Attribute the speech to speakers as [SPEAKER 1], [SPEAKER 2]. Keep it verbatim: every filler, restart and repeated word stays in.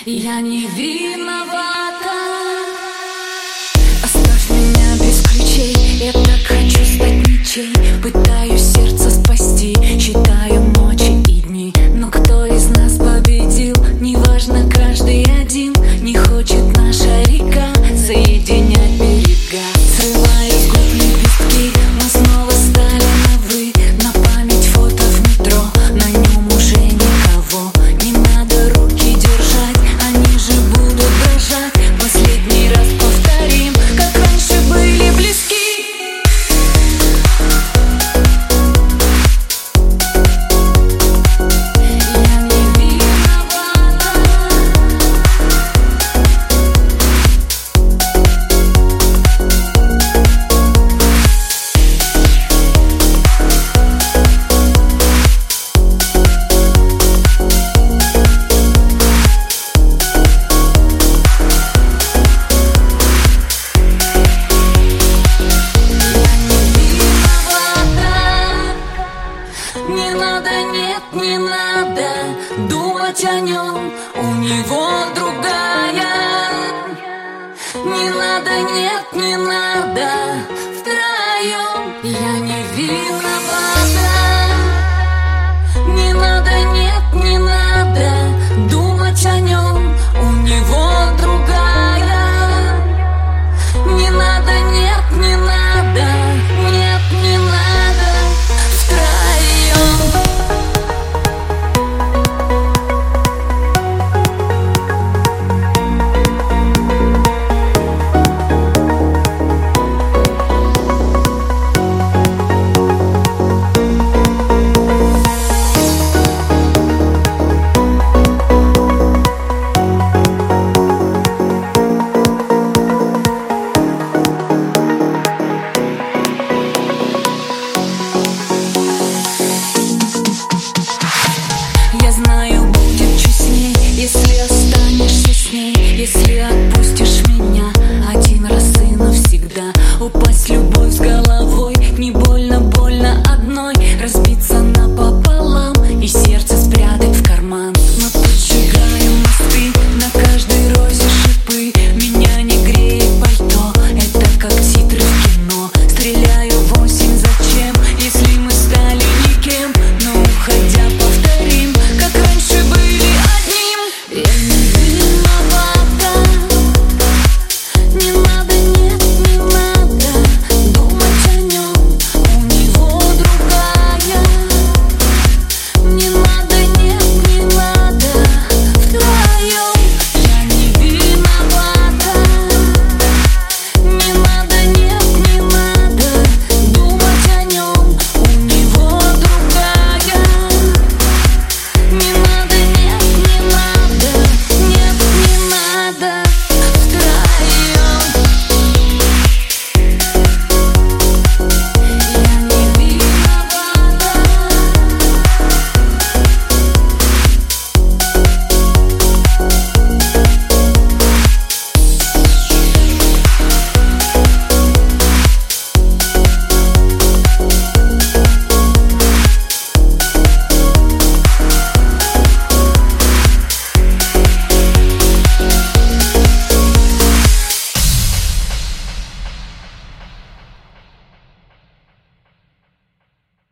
[SPEAKER 1] Я не виновата. Оставь меня без ключей. Я так хочу стать ничей. Пытаюсь сердце спасти, считаю ночи и дни. Но кто из нас победил? Неважно, каждый один. Не хочет наша река соединять берега. Срываю с губ лепестки, мы снова стали на «вы». На память фото в метро, на нем уже никого. Не надо руки держать, они же будут дрожать. Последний раз повторим, как раньше были близки. Я не виновата. Не надо, нет, не надо думать о нем, у него другая. Не надо, нет, не надо втроем. Я не виновата.